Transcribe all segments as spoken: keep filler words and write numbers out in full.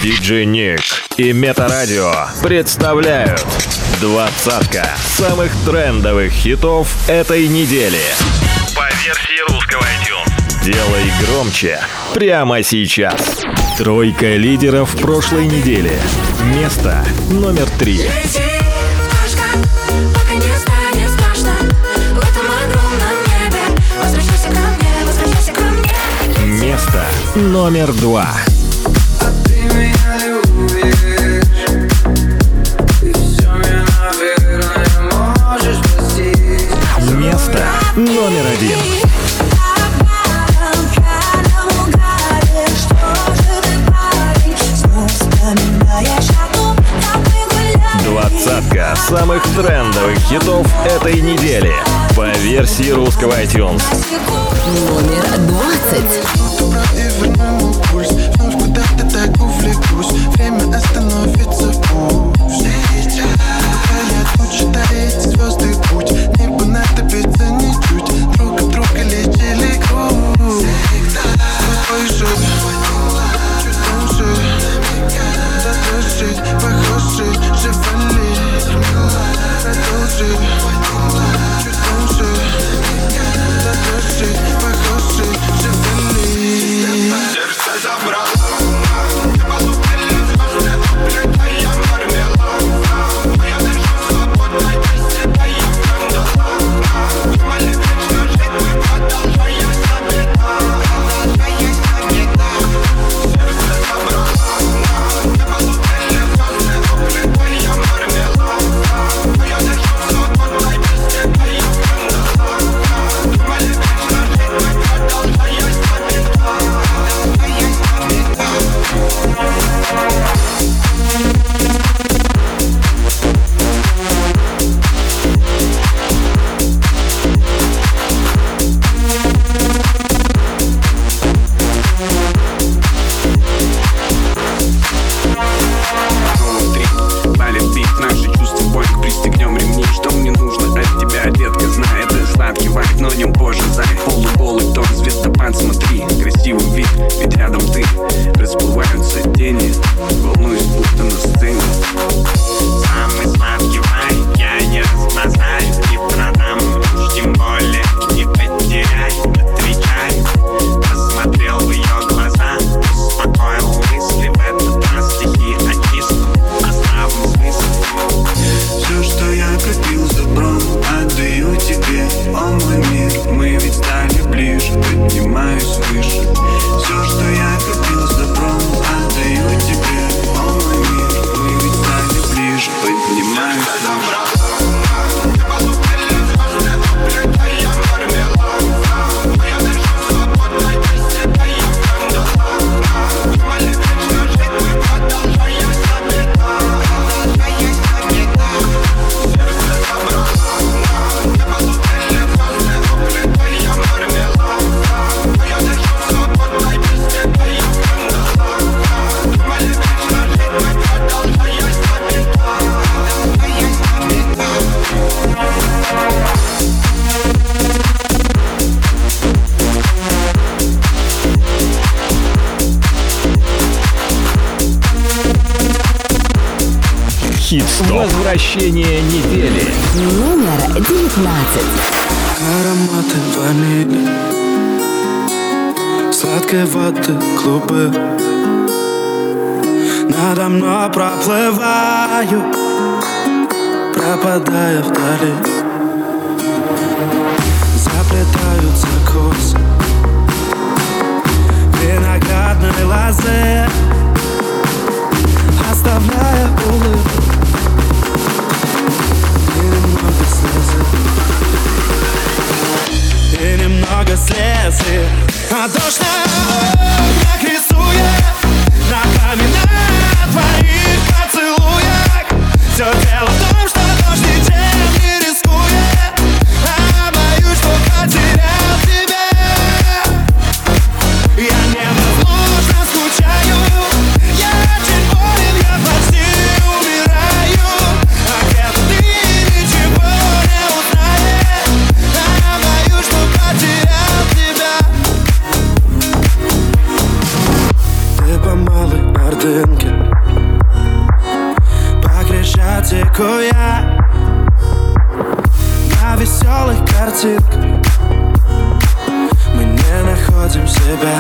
диджей Ник и Метарадио представляют двадцатка самых трендовых хитов этой недели по версии русского iTunes. Делай громче прямо сейчас. Тройка лидеров прошлой недели. Место номер три. Место номер два. Место номер один. Двадцатка самых трендовых хитов этой недели по версии русского iTunes. Номер двадцать. Время остановится пусть. Я тут считаю эти звезды путь. Небо натопится ничуть. Друг от друга летели груз. Твой же, чуть тоньше. Задержись, похожи, живали. Продолжи, чуть тоньше. Задержись, похожи, живали. Сердце забрало. Возвращение недели. Номер девятнадцать. Ароматы ванили, сладкой воды клубы. Надо мной проплываю, пропадая вдали. Заплетаются косы виноградной лозы, оставляя улыбку. И немного слез, а дождь так рисует на каменных твоих поцелуях. Все дело в том, что дождь ничем не рискует, а боюсь, что потерял тебя. Я невозможно скучаю, я очень болен, я почти умираю. А где-то ты ничего не узнаешь, а боюсь, что потерял тебя. Ты по малой Ордынке экзотику я на веселых картинках. Мы не находим себя.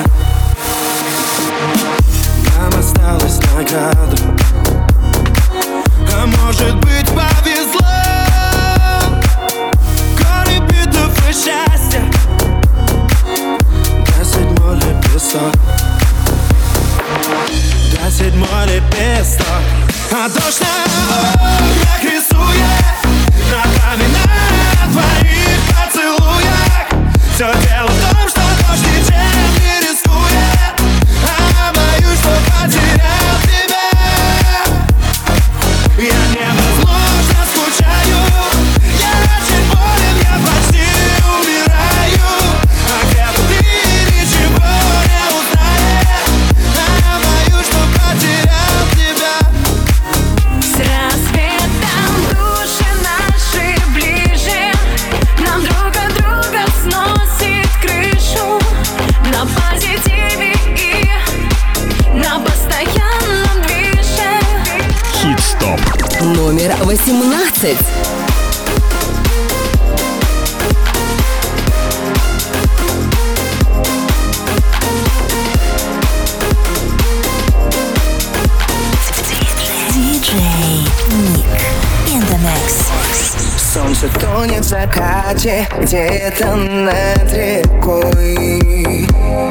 Нам осталась награда, а может быть повезло. Горы битв и счастья, до седьмой лепесток, до седьмой лепесток. А дождь на окнах рисует ногами на твоих поцелуях. Все дело в том, что дождь ничем не рискует, а боюсь, что потерял тебя. Я невозможно скучаю, я очень болен, я почти умираю. А где-то ты ничего не узнаешь, а боюсь, что потерял тебя. С рассветом души наши ближе, нам друг от друга сносит крышу. На позитиве и на постоянном движе. Хит-стоп. Номер восемнадцать. диджей Ник in the mix. Солнце тонет в закате где-то над рекой.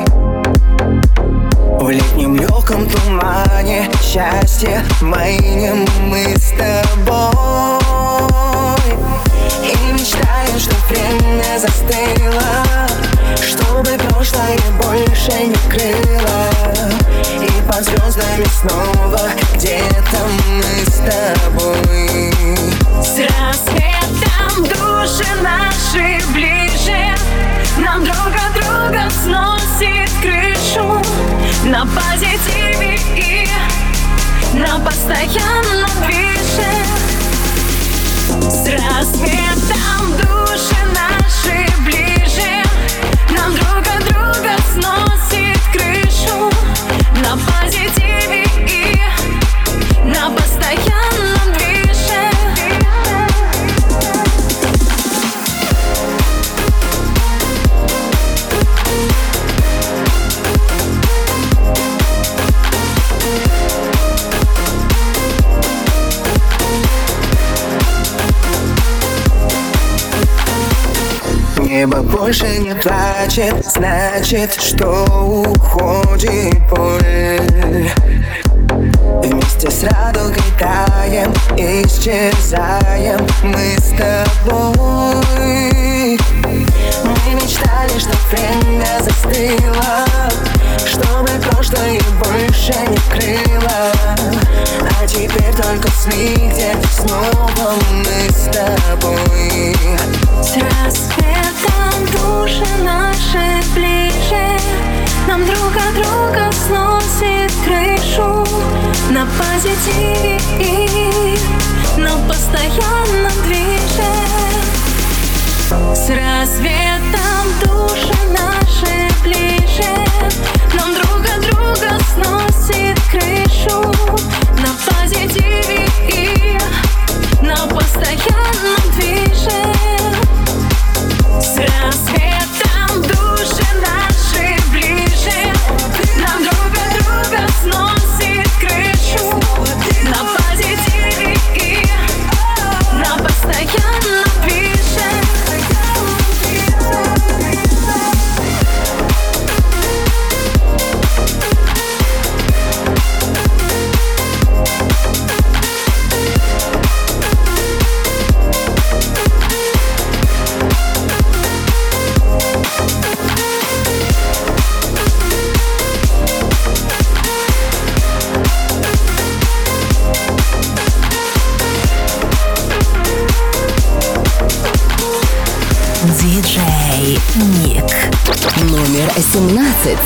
В летнем легком тумане счастье маним мы с тобой. И мечтаем, что время застыло, чтобы прошлое больше не крыло. И под звездами снова где-то мы с тобой. С рассветом души наши ближе, нам друг от друга сносит крышу. На позитиве и на постоянном движе. С рассветом души наши ближе, нам друг от друга сносит крышу. На позитиве и на постоянном движе. Небо больше не плачет, значит, что уходит боль. Вместе с радугой таем, исчезаем мы с тобой. Мы мечтали, что время застыло, чтобы прошлое больше не крыло. А теперь только сны, где-то снова мы с тобой. С рассветом души наши ближе, нам друг от друга сносит крышу. На позитиве и на постоянном движе. С рассветом души наши ближе, нам друг от друга сносит крышу. На позитиве и на постоянном движе. С рассветом души наши ближе, нам друг от друга сносит крышу. На позитиве и на постоянном движе. диджей Ник. Номер семнадцать.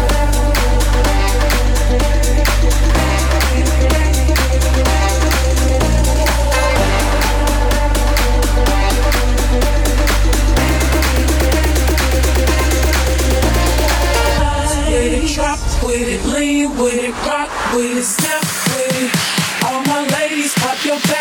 With it, lean with it, rock with it, step with it. All my ladies, pop your backs with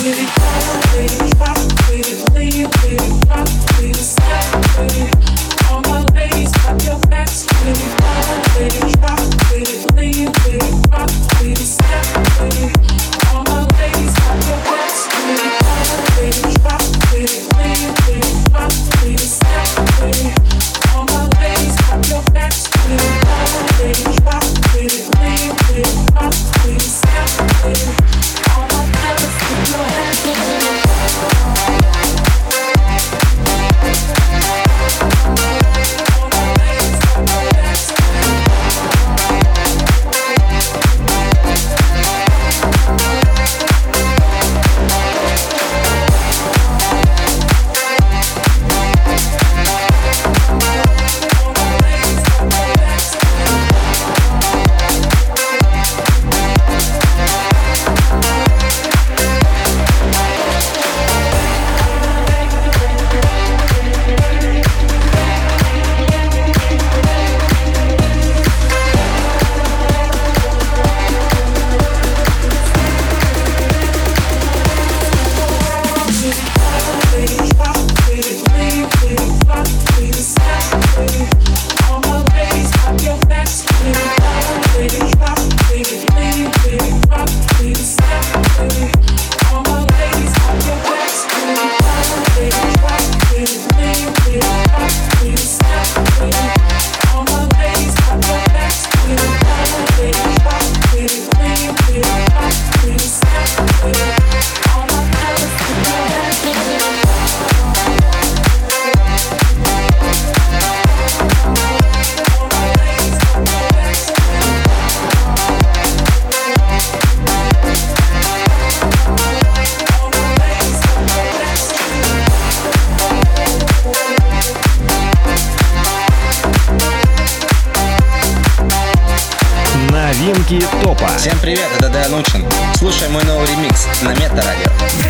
Новинки топа. Всем привет, это Данучин. Слушай мой новый ремикс на Метарадио.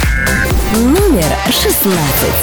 Номер шестнадцать.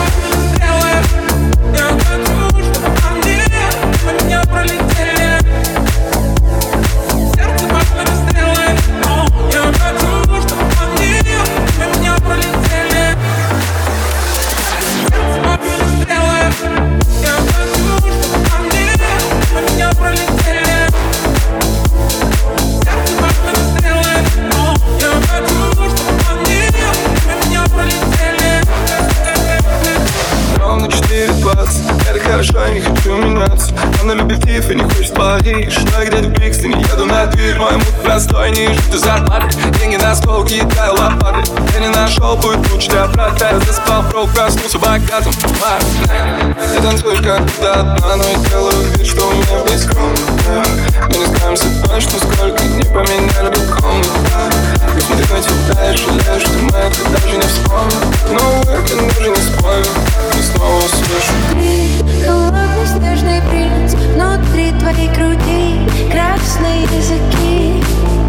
Хорошо, я не хочу меняться. Она любит Тиф и не хочет Париж. Но я где-то в Брикстоне, еду на дверь. Мой мут простой, не жить из зарплаты. Деньги на стол, кидаю лопаты. Я не нашел, будет лучше для брата. Я заспал, прок, проснулся богатым. Ты танцуешь как будто одна, но я делаю вид, что у меня весь комната. Мы не знаемся точно, сколько не поменяли бы комнату. Смотри на тебя и жалеешь, что мы это даже не вспомним. Но это даже не спорю, и снова услышу. Холодный снежный принц, внутри твоей груди красные языки.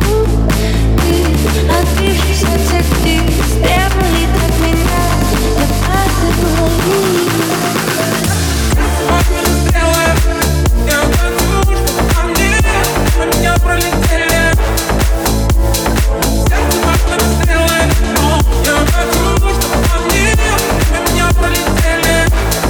Ты, отбившись от всех птиц, требовали от меня, я падаю вниз. Я хочу, чтобы по мне, по меня пролетели. Сердце пахнет стрелы. Я хочу, чтобы по мне, по меня пролетели.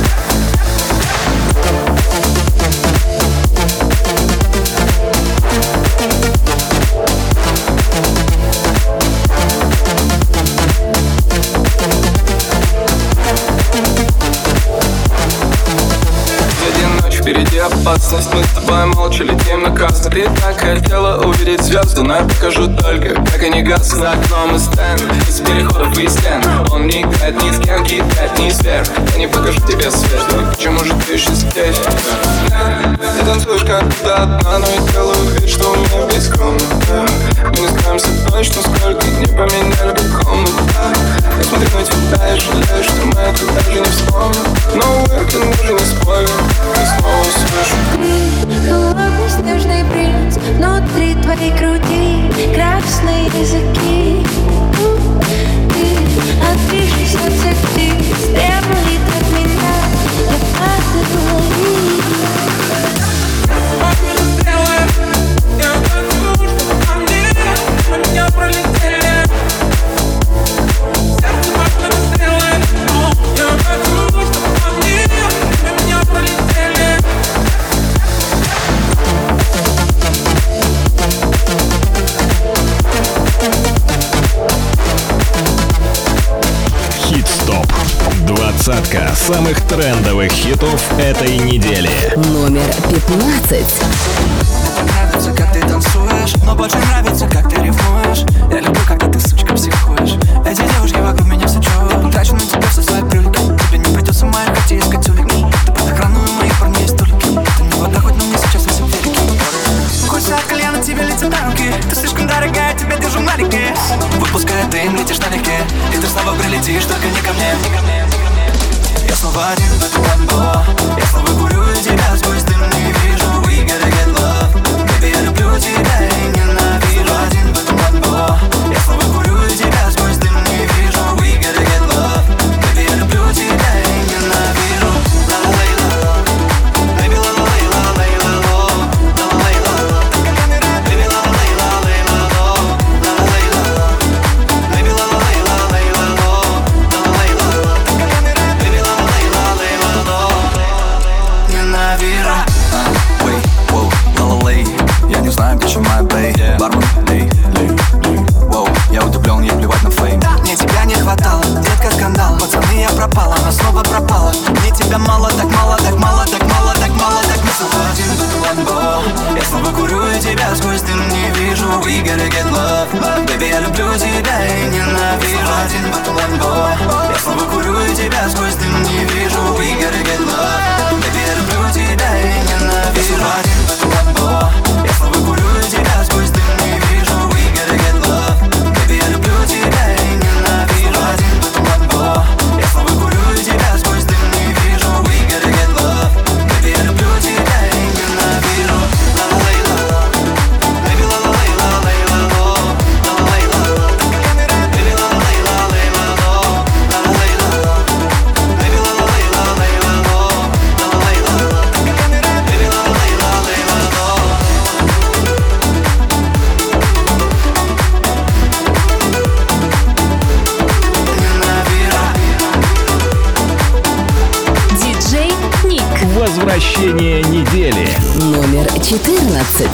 Впереди опасность, мы с тобой молча летим на красный. Ты так хотела увидеть звезды, но я покажу только, как они гаснут. За окном и стенд, из переходов и стен. Он не играет ни с кем, кидает ни сверх. Я не покажу тебе свет, почему же ты еще здесь? Ты танцуешь как будто одна, но я делаю вид, что у меня весь комната. Мы не знаемся точно, сколько не поменяли бы комнату. Я смотрю на тебя и жалею, что мы это даже не вспомним. Но это даже не спорю, и снова услышу. Холодный снежный принц, внутри твоей груди красные языки. Ты, отбившись от всех птиц, требовали от меня, я падаю вниз. Я хочу, чтобы по мне, по меня пролетели. Двадцатка самых трендовых хитов этой недели. Номер пятнадцать. Нравится, как ты танцуешь, но больше нравится, как ты ревнуешь. Я люблю, когда ты, сучка, психуешь. Эти девушки вокруг меня все чуют. Трачу на тебя все свои брюльки. Тебе не придется моих хотеть искать улики. Ты под охраной, у моих парней столики. Ты не вода, хоть, но мне сейчас весит велики. Хочется от колена тебе летит на руки. Ты слишком дорогая, тебя держу на реке. Выпуская дым, летишь налегке. И ты снова прилетишь, только не ко мне, не ко мне, не ко мне. Я снова один в этом ламбо. Я снова курю и тебя сквозь дым не вижу. We gotta get love. Baby, я люблю тебя и ненавижу. Один в этом ламбо. Я снова курю и тебя сквозь дым не вижу. We gotta get love. Baby, я люблю тебя и ненавижу. Ла-ла-лей-ла-ла. Baby, ла-ла-лей-ла-лей-ла-ло. Ла-ла-лей-ла-ла. Baby, ла-ла-лей-ла-лей-ла-ло. Ла-ла-лей-ла-ла. Baby, ла-ла-лей-ла-лей-ла-ло. Ла-ла-лей-ла-ла. Baby, ла-ла-лей-ла-лей-ла-ло. Ненавижу. Ой, воу, ла-ла-лей. Я не знаю, где чем моя бэй. Бармен, лей, лей, лей. Воу, я удивлен, ей плевать на фейм. Мне тебя не хватало, детка, скандал. Пацаны, я пропала, она снова пропала. Мне тебя мало, так мало, так мало, так мало, так мало, так мы снова один в этом ламбо. Я снова курю и тебя сквозь дым не вижу. We gotta get love. Baby, я люблю тебя и ненавижу. Один в этом ламбо. Я снова курю и тебя сквозь дым не вижу. We gotta get love. Baby, я люблю тебя и ненавижу. Один в этом ламбо. Я снова курю и тебя сквозь дым не вижу. We gotta get love. Baby, я люблю тебя и ненавижу. Один в этом ламбо. Я снова курю и тебя сквозь дым не вижу. We gotta get love. Baby, я люблю тебя и ненавижу. Ла-ла-лей-ла-ла. Baby, ла-ла-лей-ла-лей-ла-ло. Ла-ла-лей-ла-ла. Baby, ла-ла-лей-ла-лей-ла-ло. Ла-ла-лей-ла-ла. Baby, ла-ла-лей-ла-лей-ла-ло. Ла-ла-лей-ла-ла. Baby, ла-ла-лей-ла-лей-ла-ло. Диджей Ник. Возвращение недели. Номер четырнадцать.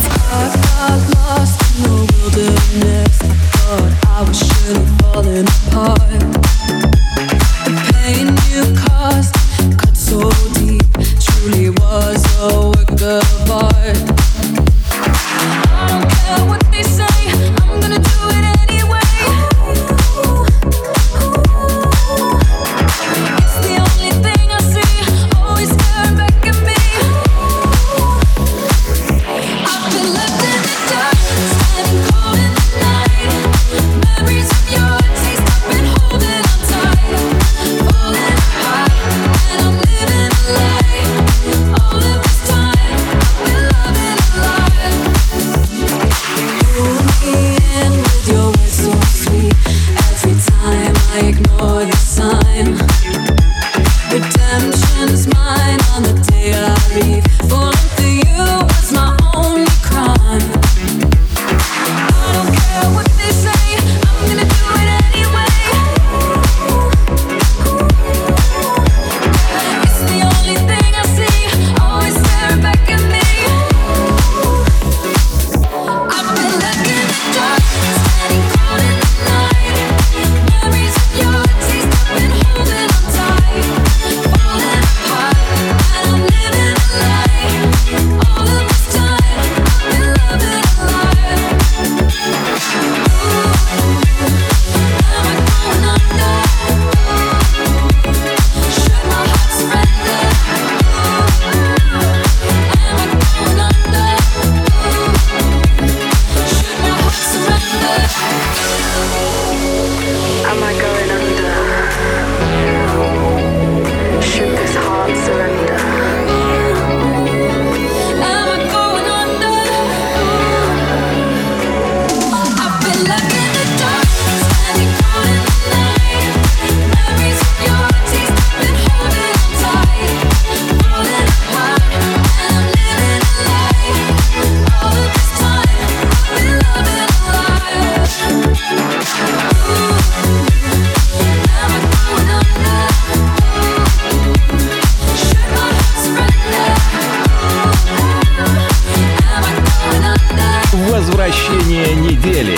Возвращение недели.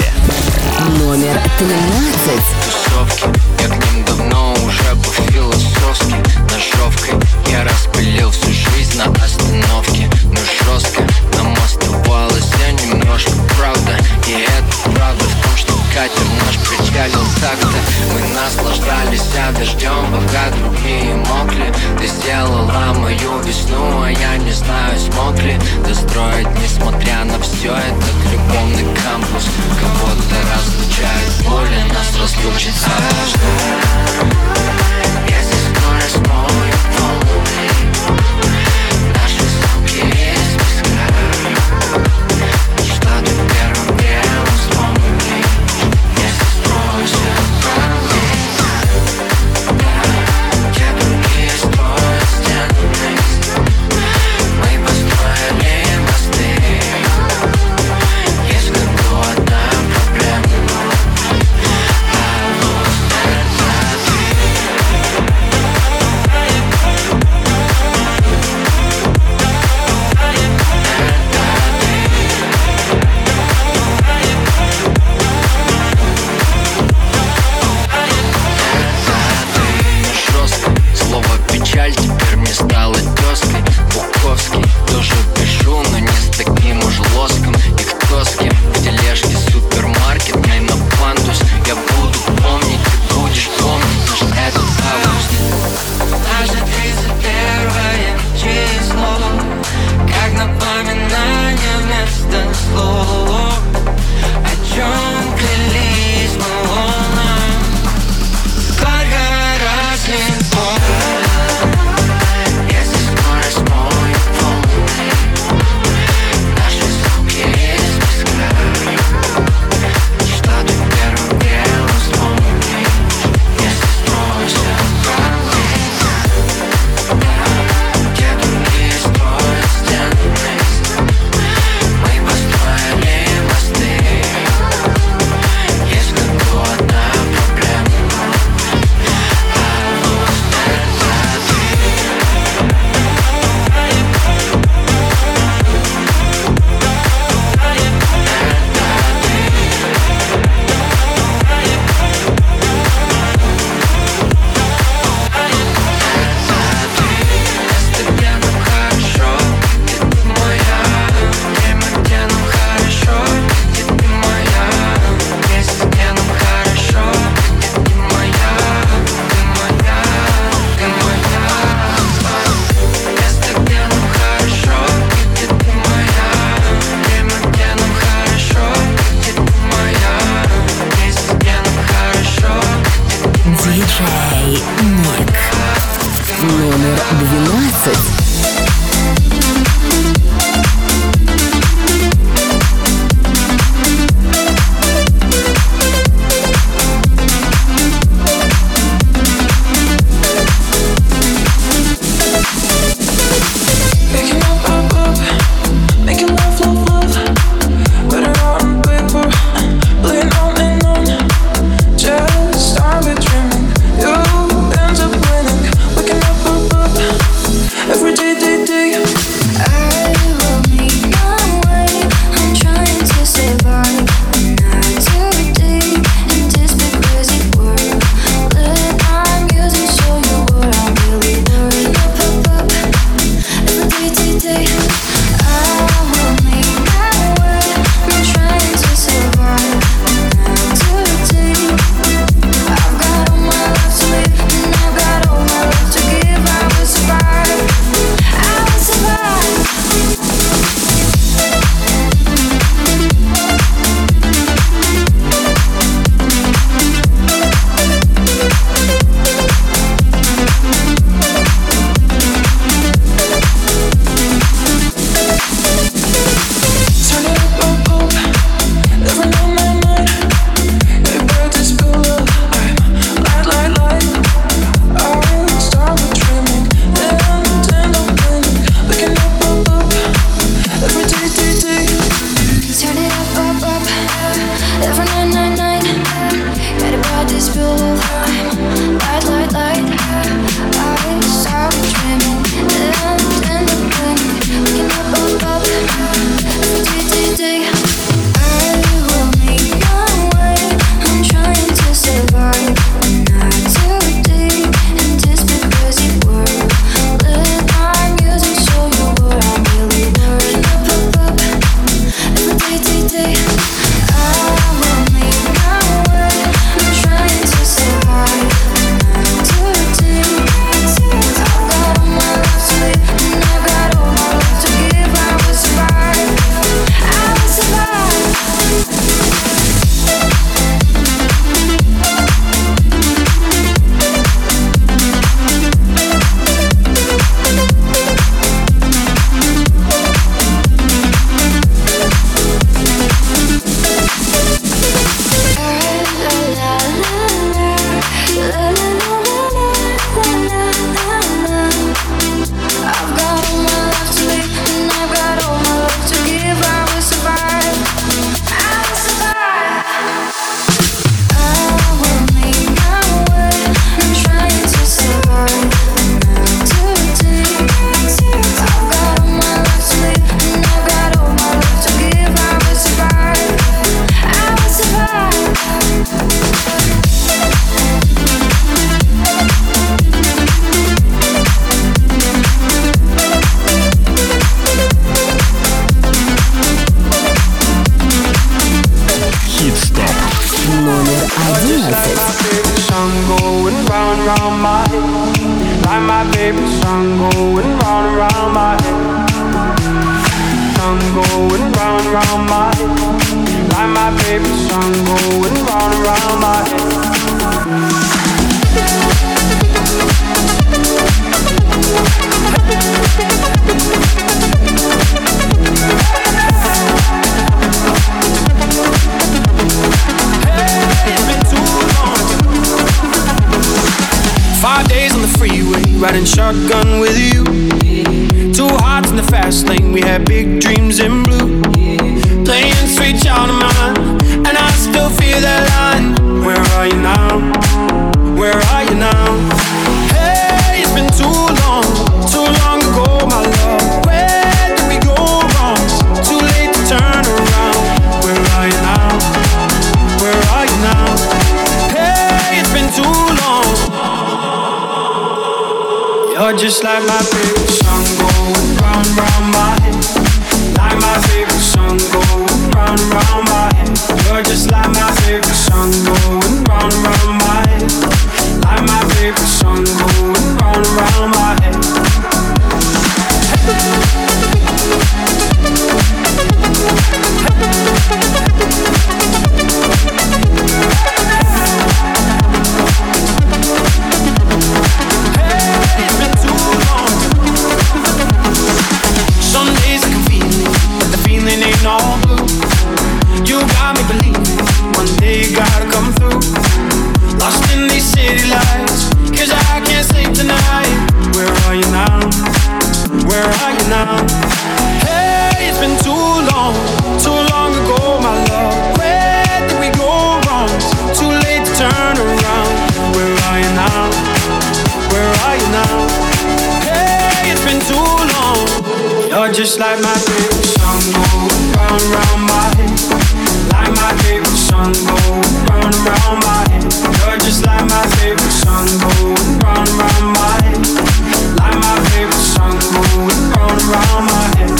тринадцать. Тусовки, я к ним давно уже по-философски. ножовкой. Я распылил всю жизнь на остановке. Но жестко нам оставалось немножко, правда. И это правда в том, что катер наш причалил так-то. Мы наслаждались дождем, пока другие мокли. Ты сделала мою весну, а я не знаю, смог ли достроить, несмотря на все, этот любовный кампус. Кого-то разлучает боль, нас разлучит дождь. Если скорость моет волны, наши звуки из песка, что ты первым делом вспомни, если спросят про меня. Те другие строят стены, мы построили мосты. Есть в году одна проблема, I lose Номер одиннадцать. Like my favorite song going round and round my head. Song going round and round my head. Like my favorite song going round and round my head. Hey, it's been too long. Five days on the freeway, riding shotgun with you. Two hearts in the fast lane, we had big dreams in blue. Playing sweet child of mine, and I still feel that line. Where are you now? Where are you now? Hey, it's been too long, too long ago, my love. Where did we go wrong? Too late to turn around. Where are you now? Where are you now? Hey, it's been too long. You're just like my favorite song going round and round my head. Like my favorite song going round and round my head. You're just like my favorite song going round and round my head. Like my favorite song going round and round my head. Hey, it's been too long. Some days I can feel it, but the feeling ain't all blue. You got me believing one day you gotta come through. Lost in these city lights, cause I can't sleep tonight. Where are you now? Where are you now? Hey, it's been too long, too long ago, my love. Where did we go wrong? Too late to turn around. Where are you now? Where are you now? Hey, it's been too long. You're just like my favorite song going round and round my head. Like my favorite song going round and round my head. You're just like my favorite song going round and round my head. Like my favorite song going round and round my head.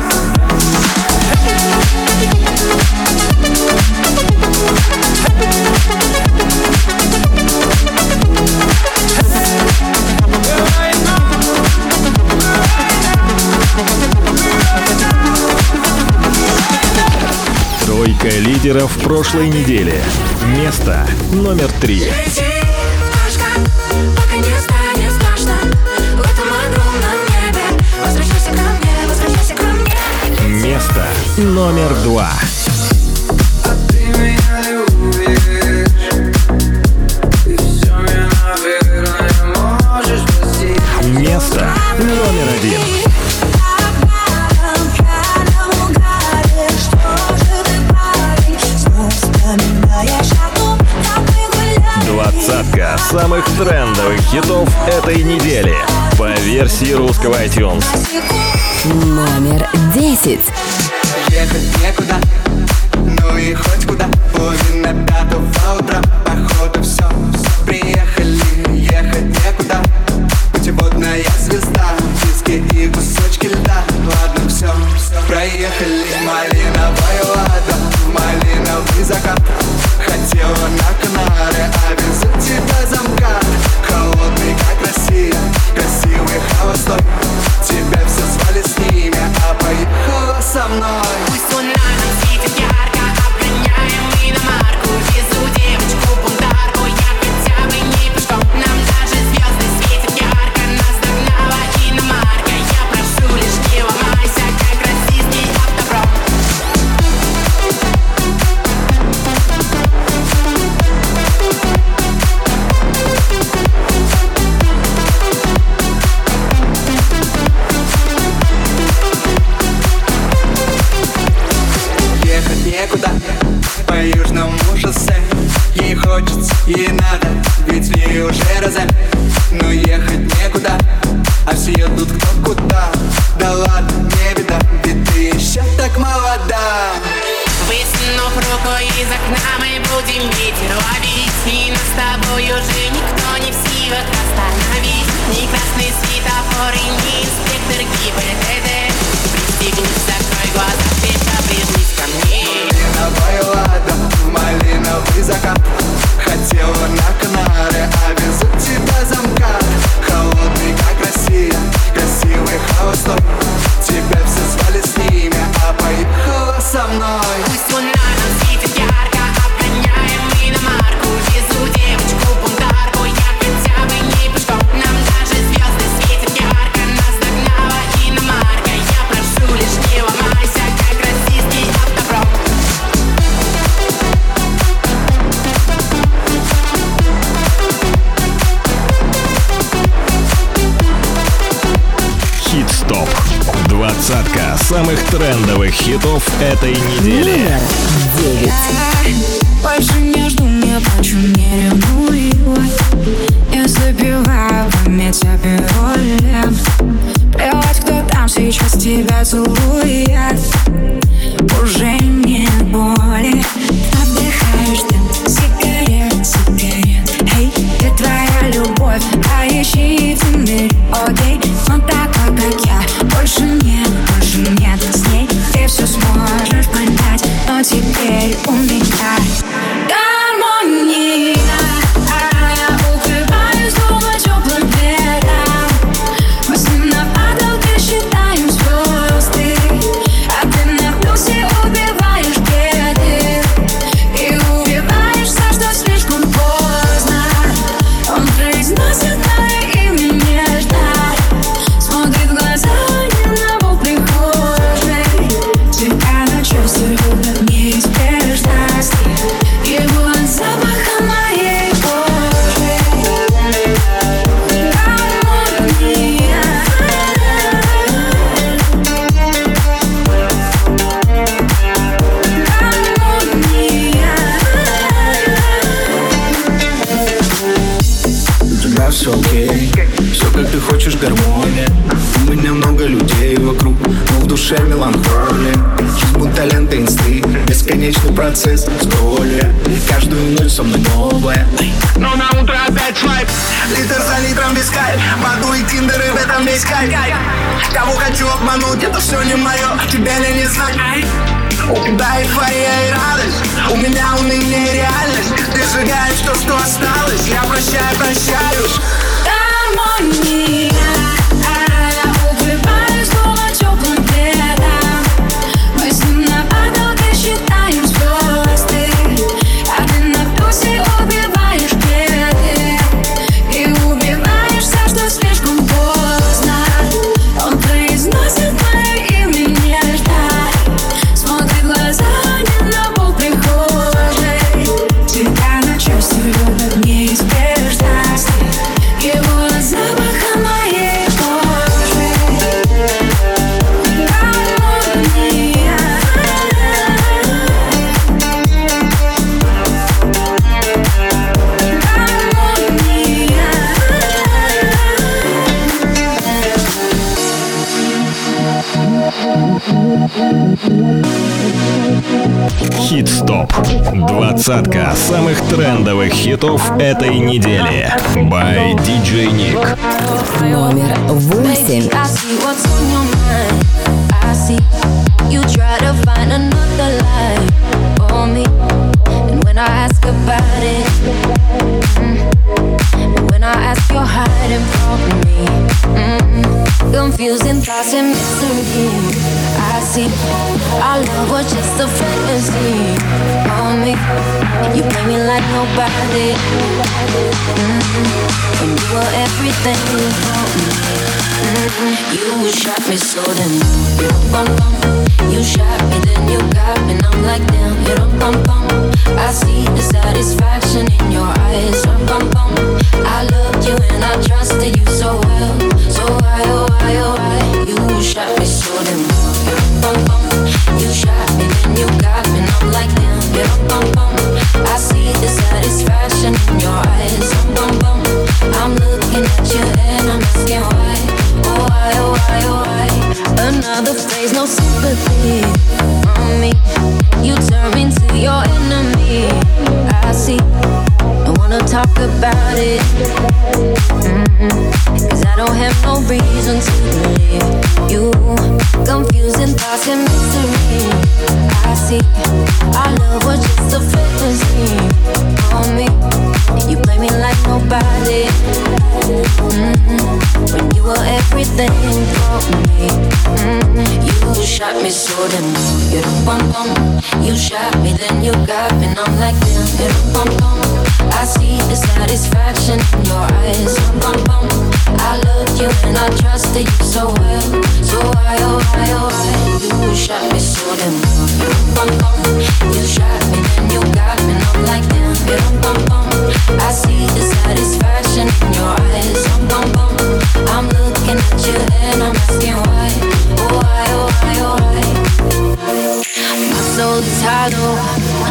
Тройка лидеров прошлой недели. Место номер три. Место номер два. Место номер один. Двадцатка самых трендовых хитов этой недели по версии русского iTunes. Номер десять. Ехать некуда, ну и хоть куда. Половина пятого утра, походу все, приехали. Ехать некуда, путеводная звезда. Диски и кусочки льда, ладно все, проехали. Малиновая лада, малиновый закат. Хотела на Канары, а без тебя замка. Холодный, как Россия, красивый холостой. Тебя все звали с ними, а поехала со мной. Пусть луна нам светит ярко, обгоняем иномарку. Везу девочку бунтарку, я хотя бы не пешком. Нам даже звезды светят ярко, нас догнала иномарка. Я прошу лишь не ломайся, как российский автопром. Некуда, по южному шоссе. Ей хочется, ей надо, ведь в ней уже розе. Но ехать некуда, а все едут кто куда. Да ладно, не беда, ведь ты еще так молода. Высунув руку из окна, мы будем ветер ловить. И нас с тобой уже никто не в силах остановить. Ни красный светофор и ни инспектор ГИБДД. Пристегнись, закрой глаза, ты поближись ко мне. Малиновая лада, малиновый закат. самых трендовых хитов этой недели. Номер девять. Больше не жду, не плачу, не ревную. Я забиваю память апиолем. Плевать, кто там сейчас тебя целует. Уже нет боли. Отдыхаешь дым, сигарет, сигарет. Эй, ты твоя любовь, а ищи в мире. Окей, но такой, как я, больше нет, больше нет. С ней ты все сможешь понять, но теперь у меня гармония. Я укрываюсь дома теплым пледом. Мы с ним на потолке считаем звезды, а ты на плюсе убиваешь беды и убиваешься, что слишком поздно. Он произносит мое имя нежно, смотрит в глаза не на пол прихожей. Тебя на чувствую неизбежности его от запаха моей кожи. Гармония. У тебя все окей, все как ты хочешь, гармония. У меня много людей вокруг, но в душе меланхолия. Жизнь будто лента инсты, бесконечный процесс скролля. Каждую ночь со мной новая, но на утро опять свайп. Литр за литром без кайф, воду и тиндер, и в этом весь кайф. Кого хочу обмануть, это все не мое, тебя ли не знать. Да, эйфория и радость, у меня уныние и реальность. Ты сжигаешь то, что осталось, я прощаю, прощаюсь. Гармония. Я укрываюсь дома теплым пледом. Мы с ним на потолке считаем звезды, а ты на плюсе убиваешь беды и убиваешься, что слишком поздно. Он произносит мое имя нежно, смотрит в глаза не на пол прихожей. Тебя на чувствую неизбежности его от запаха моей кожи. Гармония. Хит-стоп. Двадцатка самых трендовых хитов этой недели. By ди джей Nick. Номер восемь. I see what's on your mind. I see you try to find another life for me. And when I ask about it, mm, and when I ask, you're hiding from me. Mm, confusing thoughts and mystery. I see our love was just a fantasy for me. You play me like nobody. Mm-hmm. When you were everything for me. Mm-hmm. You shot me so then you bum bum. You shot me then you got me and I'm like damn you don't bum bum. I see the satisfaction in your eyes. Bum bum. I loved you and I trusted you so well. So why oh why oh why you shot me so then you bum bum. You shot me then you got me and I'm like damn you don't bum bum. I see the satisfaction in your eyes. Bum bum. I'm looking at you and I'm asking why. Oh why, oh why, oh why. Another phase, no sympathy on me. You turn me into your enemy. I see, I wanna talk about it. Mm-hmm. Cause I don't have no reason to believe you. Confusing thoughts and mystery. I see, our love was just a fantasy on me. You play me like nobody. Mm-hmm. When you were everything for me. Mm-hmm. You shot me so then you bum bum. You shot me then you got me and I'm like damn you bum bum. I see the satisfaction in your eyes. Bum bum. I loved you and I trusted you so well. So why oh why oh why you shot me so then you bum bum. You shot me then you got me and I'm like damn you bum bum. I see the satisfaction in your eyes. Bum bum. I'm looking at you and I'm asking why. Oh why oh why oh why.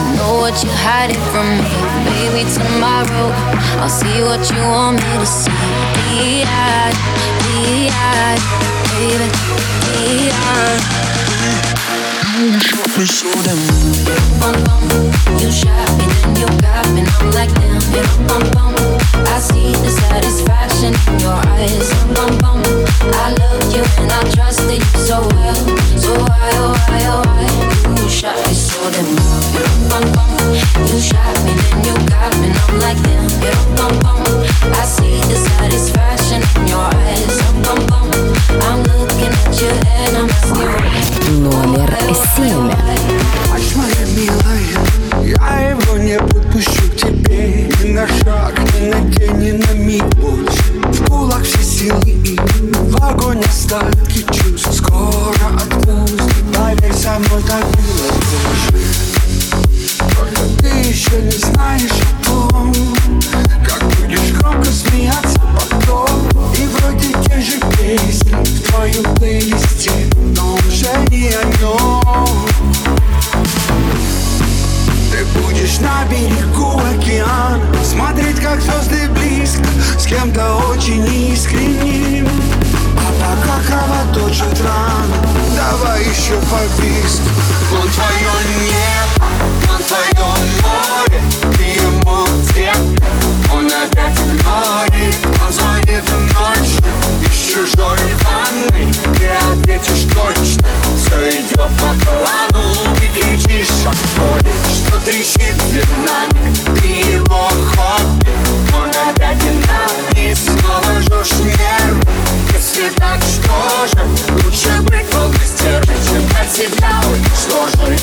know what you're hiding from me. Maybe tomorrow I'll see what you want me to see. D-I-D, D-I-D, baby, D-I-D. Me so damn. Bum bum, you shot me, then you got me, and I'm like damn. Yeah, bum bum, I see the satisfaction in your eyes. Bum bum, I love you and I trusted you so well. So why, oh why, oh why? You shot me so damn. Yeah, bum bum, you shot me, then you got me, and I'm like damn. Yeah, bum bum, I see the satisfaction in your eyes. Bum bum, I'm looking at you and I'm asking. Номер семь. Ночь моя милая, я его не подпущу к тебе ни на шаг, ни на день, ни на миг больше. В кулак все силы и в огонь остатки чувств. Скоро отпусти, поверь, со мной так было тоже. Только ты еще не знаешь о том, как будешь громко смеяться потом. И вроде те же песни в твоем плейлисте, но уже не о нем. Ты будешь на берегу океана, смотреть, как звезды близко, с кем-то очень искренним. А пока кровоточит рана, давай еще по-биску. Он твое небо, он твое море, ты ему где? Он опять игнорит, он звонит ночью из чужой ванной. Ты ответишь точно, все идет по плану. Ты кричишь от боли, что трещит динамик. Ты его хобби, он опять динамик. Снова жжешь нервы, если так, что же? Лучше быть полной стервой, чем от себя уничтожить.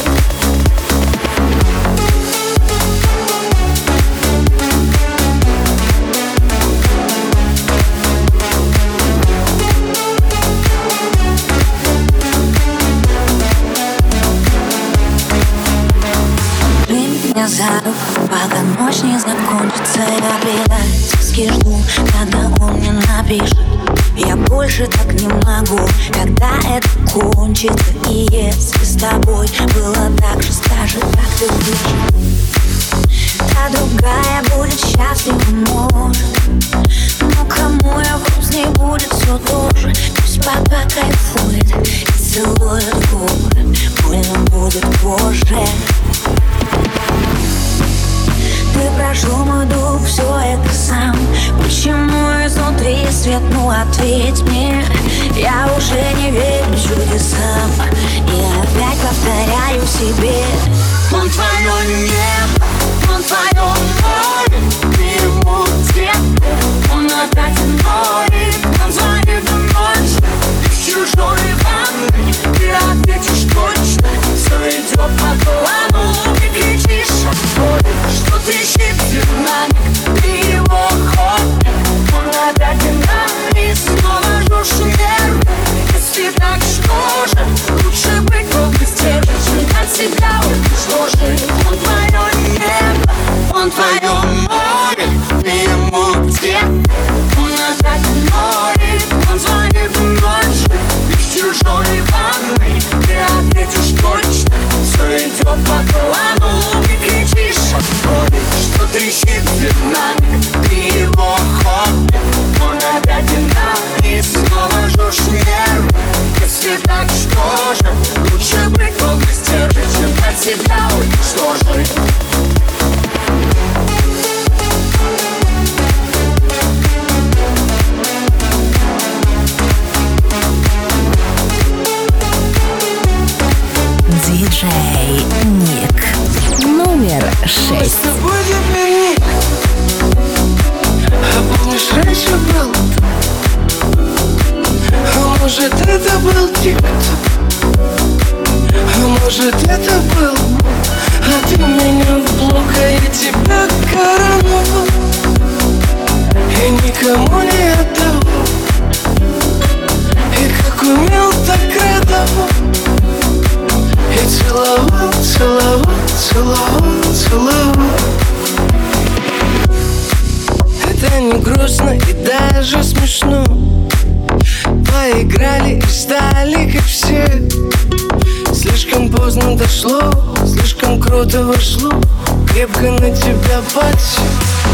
Меня за руку, пока ночь не закончится. Я предательски жду, когда он мне напишет. Я больше так не могу, когда это кончится. И если с тобой было так же, скажи, как ты выжил. Та другая будет счастлива, может. Но кому я грустней будет все тоже. Пусть пока кайфует и целует губы. Больно будет позже. Ты прошел мой дух, все это сам. Почему изнутри свет, ну ответь мне. Я уже не верю чудесам. И опять повторяю себе. Он твое небо, он твое море, ты ему где? Он опять игнорит, он звонит ночью из чужой ванной. Ты ответишь точно, все идет по плану. Ты кричишь от боли, что трещит динамик. Ты его хобби, он опять динамик. Снова жжешь нервы, если так, что же? Лучше быть полной стервой, чем от себя уничтожить. Он твое небо, он твое море, ты ему где? Он опять игнорит, он звонит ночью из чужой ванной. Ты ответишь точно, все идет по плану. Ты кричишь от боли, что трещит динамик. Ты его хобби, он опять динамик. Снова жжешь нервы, если так, что же? Лучше быть полной стервой, чем от себя уничтожить. Диджей Ник. Номер шесть. Мы с тобой теперь ник. А помнишь, раньше был? А может, это был тик-ток? А может, это был? А ты меня в блок, а я тебя короновал. И никому не отдавал. И как умел, так радовал. И целовал, целовал, целовал, целовал. Это не грустно и даже смешно. поиграли и стали как все. Слишком поздно дошло, слишком круто вошло, крепко на тебя подсел.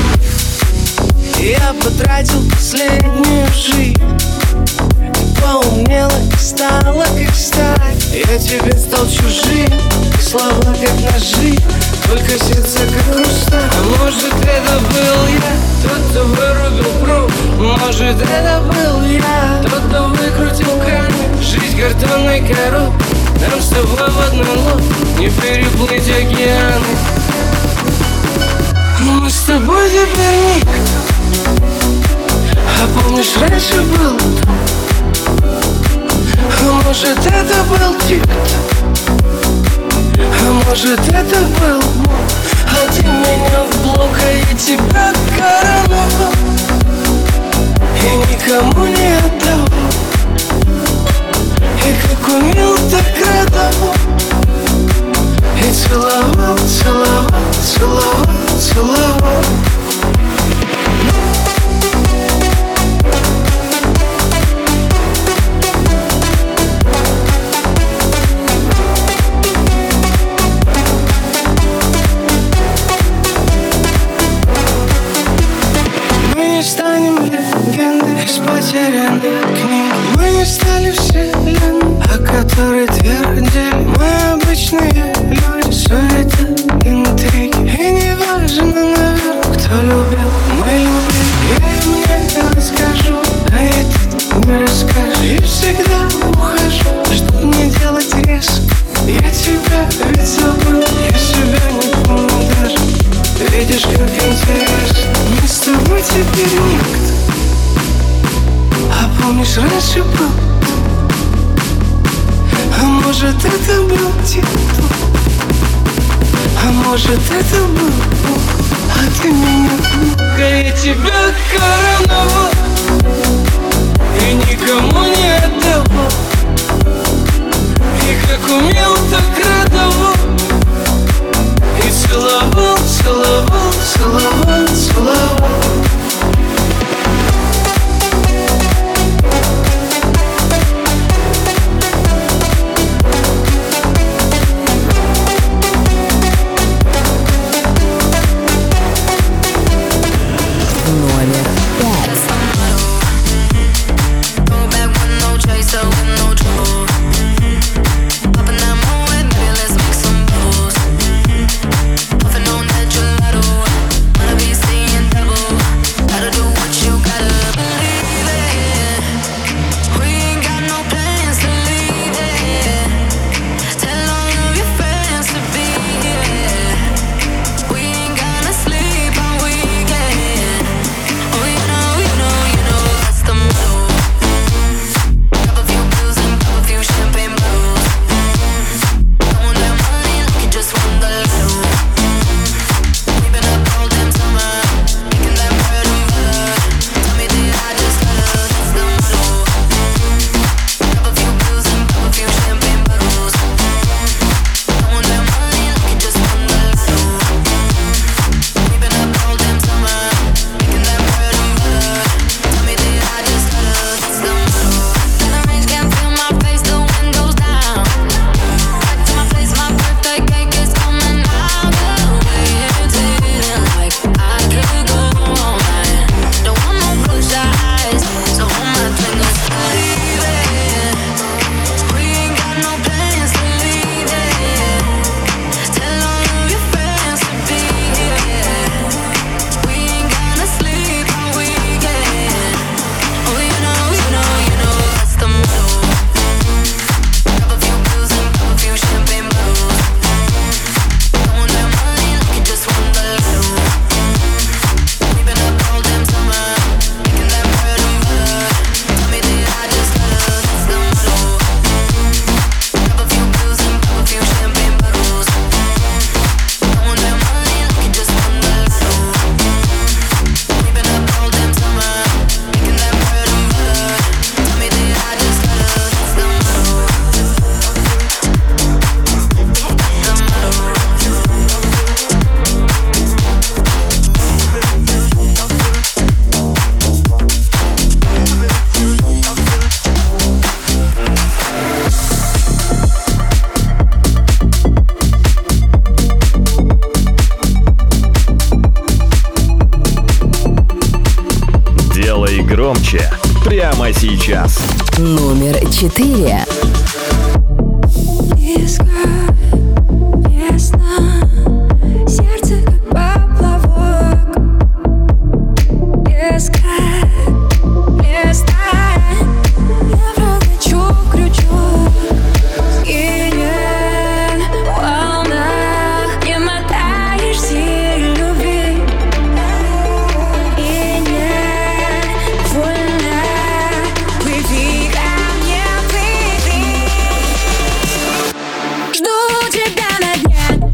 Я потратил последнюю жизнь, поумнела и стала как сталь. Я тебе стал чужим, слова как ножи, только сердце как хрусталь. А может это был я, тот, кто вырубил пруд. Может это был я, тот, кто выкрутил кран. Жизнь картонной коробкой, нам с тобой в одной лодке не переплыть океаны. Мы с тобой теперь никто. А помнишь, раньше был кто? А может это был тик-ток? А может это был мой? А ты меня в блок, а я тебя короновал и никому не отдал. И как умел, так радовал. И целовал, целовал, целовал, целовал. Из потерянных книг мы не стали вселенной, о которой твердили мы обычные люди. Суета, интриги, и не важно, наверное, кто любил, мы любим. Я им не расскажу, а этот не расскажешь. И всегда ухожу, чтоб не делать резко. Я тебя ведь забыл, я себя не помню даже. Видишь, как интересно, мы с тобой теперь никто. А помнишь, раньше был? А может это был тик-ток? А может это был Бог? А ты меня мог, а я тебя короновал и никому не отдавал. И как умел, так радовал. И целовал, целовал, целовал, целовал. With no chaser, with no trouble. Popping that moe, baby, let's make some громче прямо сейчас. Номер четыре. Сердце как поплавок. Без края, без тайн. Я прокачу крючок. Скинет в волнах. Не мотаешься любви. И не вольно. Плыви ко мне, плыви. Жду тебя на дне.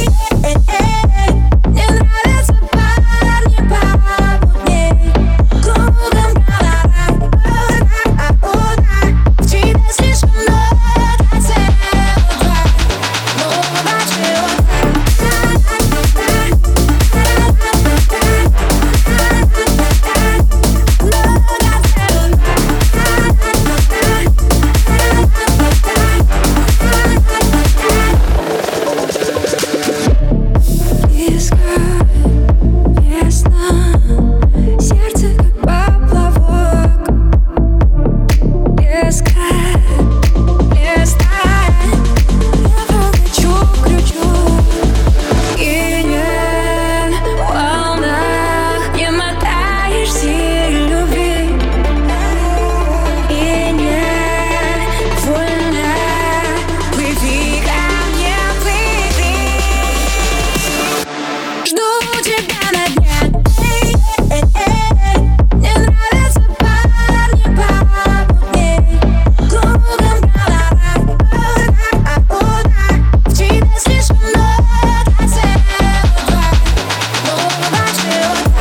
Мне нравятся парни помутней. Кругом голова. В тебе слишком много цэ о два. Много чего-то. Сердце как поплавок. Без края, без тайн. Я прокачу крючок. Скинет в волнах. Не мотаешься любви. И не вольно. Плыви ко мне, плыви. Жду тебя на дне. Мне нравятся парни помутней. Кругом голова. В тебе слишком много цэ о два. Много чего-то.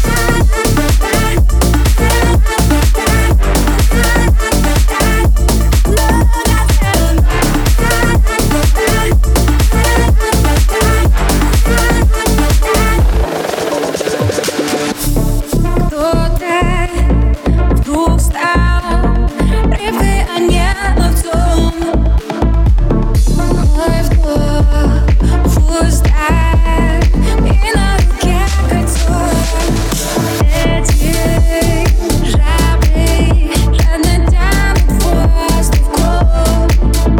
Кто-то вдруг стал рыбой, а не ловцом. Мой вдох в устах и на руке кольцо. Эти жабры жадно тянут воздух в кровь.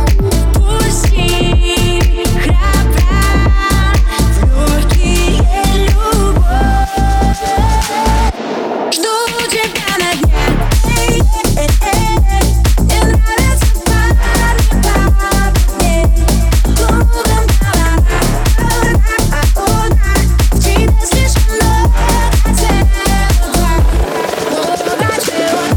Пусти храбра в легкие любовь. Жду тебя на дне. Мне нравятся парни помутней. Кругом голова. В тебе слишком много цэ о два. Много чего-то.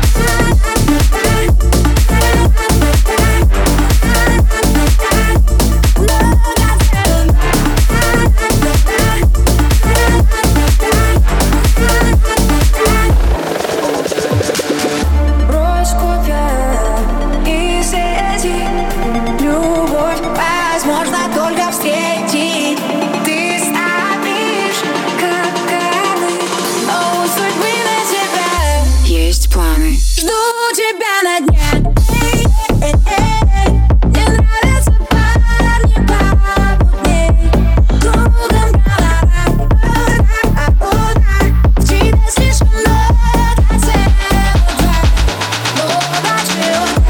Брось копья и сети. Любовь возможно только встретить. Ты ставишь капканы, но у судьбы на тебя есть планы. Жду тебя на дне. Мне нравятся парни помутней. Кругом голова. В тебе слишком много цэ о два. Много чего-то.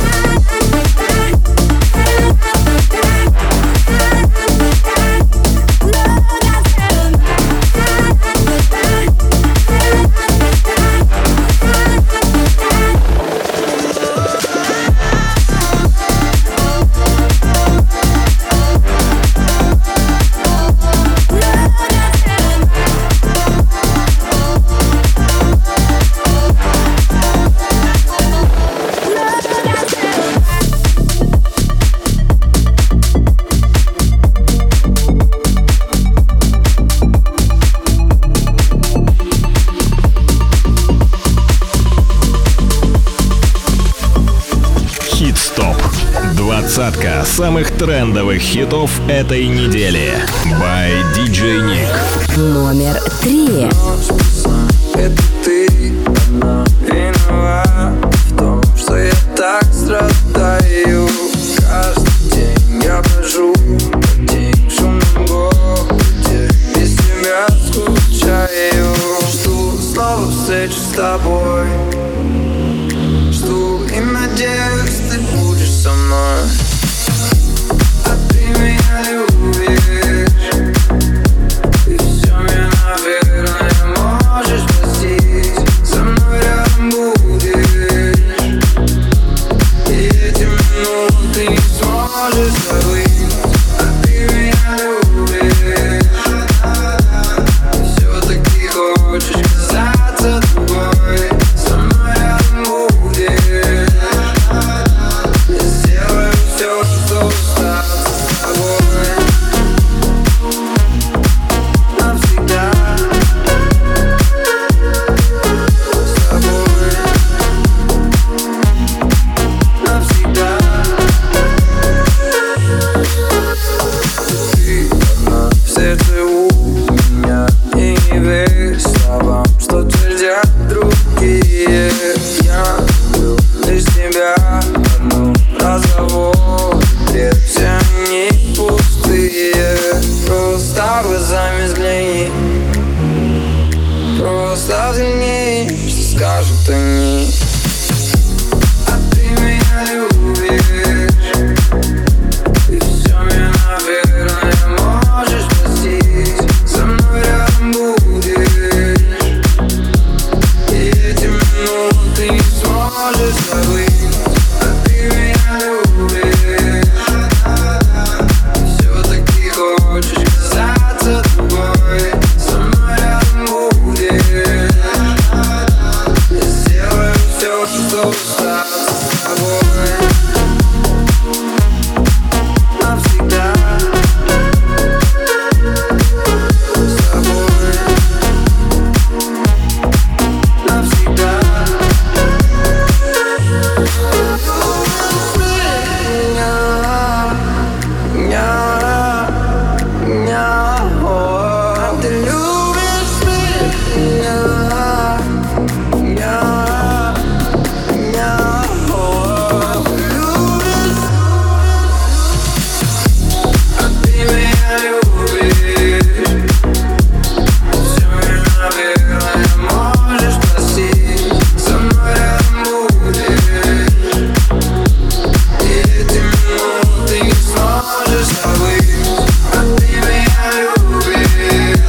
Двадцатка самых трендовых хитов этой недели. By ди джей Nick. Номер три. Это ты одна виновата в том, что я так страдаю. Каждый день я брожу по день шумном городе. Без тебя скучаю. Жду снова встречи с тобой. тобой. Жду и надеюсь, ты будешь со мной. А ты меня любишь, и все мне, наверное, можешь простить. Со мной рядом будешь, и эти минуты ты не сможешь забыть. А ты меня любишь, все-таки хочешь казаться другой. Со мной рядом будешь, я сделаю все, чтобы остаться с тобой навсегда. С тобой навсегда. Ты одна в сердце у меня, и не верь словам, что твердят другие. Я был лишь тебя одну, разговор, бред, все они пустые. Просто глазами взгляни, просто взгляни, что скажут они. А ты меня любишь, и все мне, наверное, можешь простить. Со мной рядом будешь, и эти минуты ты не сможешь забыть. А ты меня любишь, все-таки хочешь казаться другой. Со мной рядом будешь, я сделаю все, чтобы остаться с тобой навсегда. С тобой навсегда. Ня, ня, о, ты любишь меня. Ня, ня, о, ты любишь. А ты меня любишь, все мне, наверное, можешь простить. Со мной рядом будешь, и эти минуты ты не сможешь забыть. А ты меня любишь,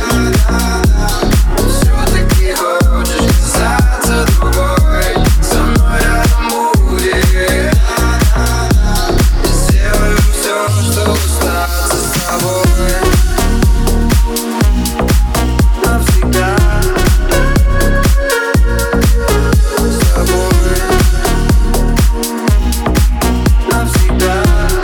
все-таки хочешь казаться другой. Со мной рядом будешь, я сделаю все, чтобы остаться с тобой навсегда. С тобой навсегда.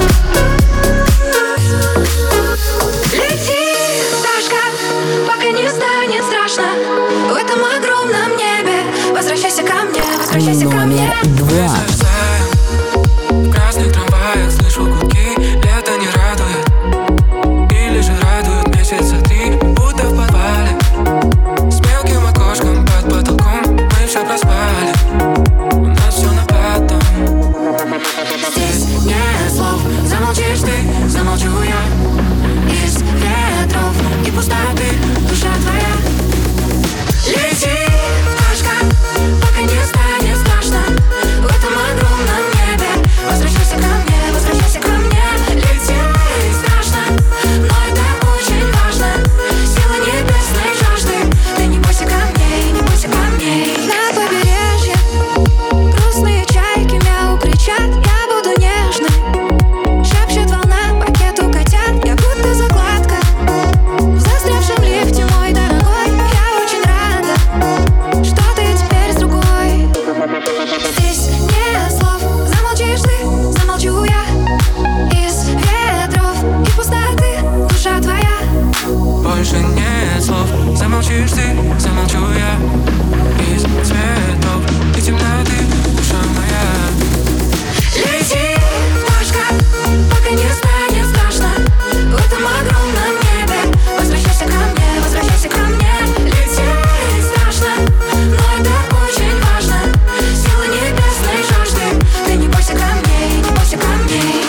Лети, пташка, пока не станет страшно. В этом огромном небе возвращайся ко мне, возвращайся ко мне. Номер два. В красных трамваях слышу гудки, лето не радует. Или же радует месяца три, будто в подвале. С мелким окошком под потолком мы все проспали. У нас все на потом. Здесь нет слов, замолчишь ты, замолчу я. Из ветров и пустоты душа твоя. Лети, пташка, пока не станет страшно. В этом огромном небе возвращайся ко мне, возвращайся ко мне. Лети, страшно, но это очень важно. Сила небесной жажды. Ты не бойся камней, не бойся камней. На побережье грустные чайки мяу кричат. Я буду нежной, шепчет волна пакету котят. Я будто закладка в застрявшем лифте, мой дорогой. Я очень рада, что ты теперь с другой. Здесь нет слов, замолчишь ты, замолчу я. Из ветров и пустоты душа твоя. Больше нет слов, замолчишь ты, замолчу я. Из цветов и темноты душа моя. Лети, пташка, пока не станет страшно. В этом огромном небе возвращайся ко мне, возвращайся ко мне. Лети, страшно, но это очень важно. Сила небесной жажды. Ты не бойся камней, не бойся камней.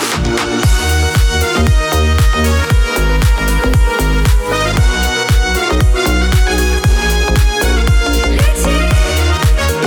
Лети,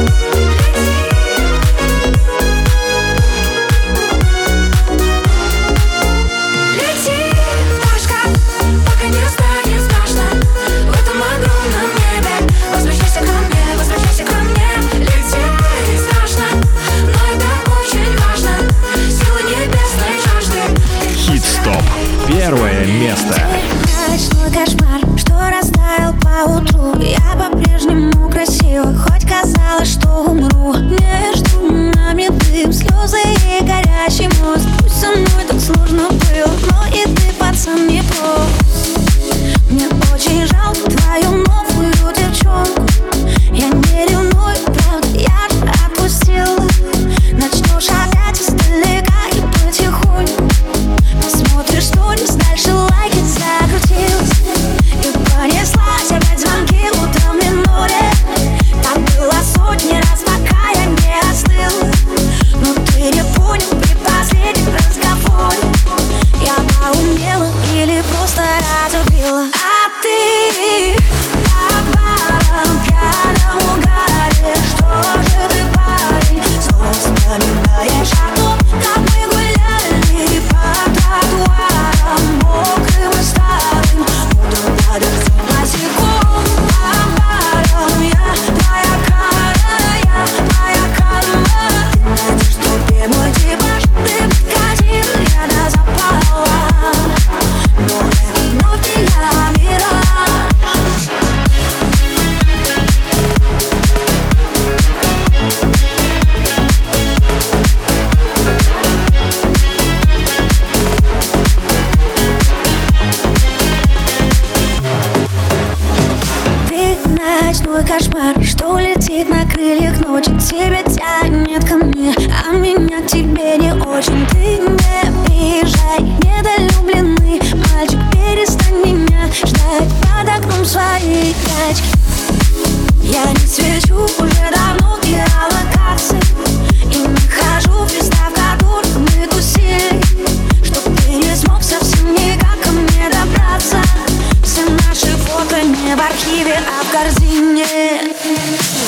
что растаял поутру. Я по-прежнему красива, хоть казалось, что умру. Между нами дым, слезы и горящий мост. Пусть со мной так сложно было, но и ты, пацан, не прост. Мне очень жалко твою новую девчонку. Я не ревную, правда, я же отпустила. Начнешь опять издалека и потихоньку посмотришь сторис, дальше лайки закрутилась. И понеслась опять звонки утром в миноре. Так было сотни раз, пока я не остыла. Но ты не понял при последнем разговоре. Я поумела или просто разубила. А ты по барам пьяном угаре. Что же ты, парень, снова вспоминаешь о том, как мы гуляли по тротуарам мокрым и старым. Утром под дождем босиком по барам. Я твоя кара, я твоя карма. Ты найдешь себе мой типаж, ты подкатил, я до запала. Но это вновь не я, мираж. Ты ночной кошмар, что летит на крыльях ночи. Тебя тянет ко мне, а меня к тебе не очень. Ты не приезжай, недолюбленный мальчик, перестань меня ждать под окном своей тачки. Я не свечу уже давно в геолокации и не хожу в места, в которых мы тусили, чтоб ты не смог совсем никак ко мне добраться. Все наши фото не в архиве, а в корзине.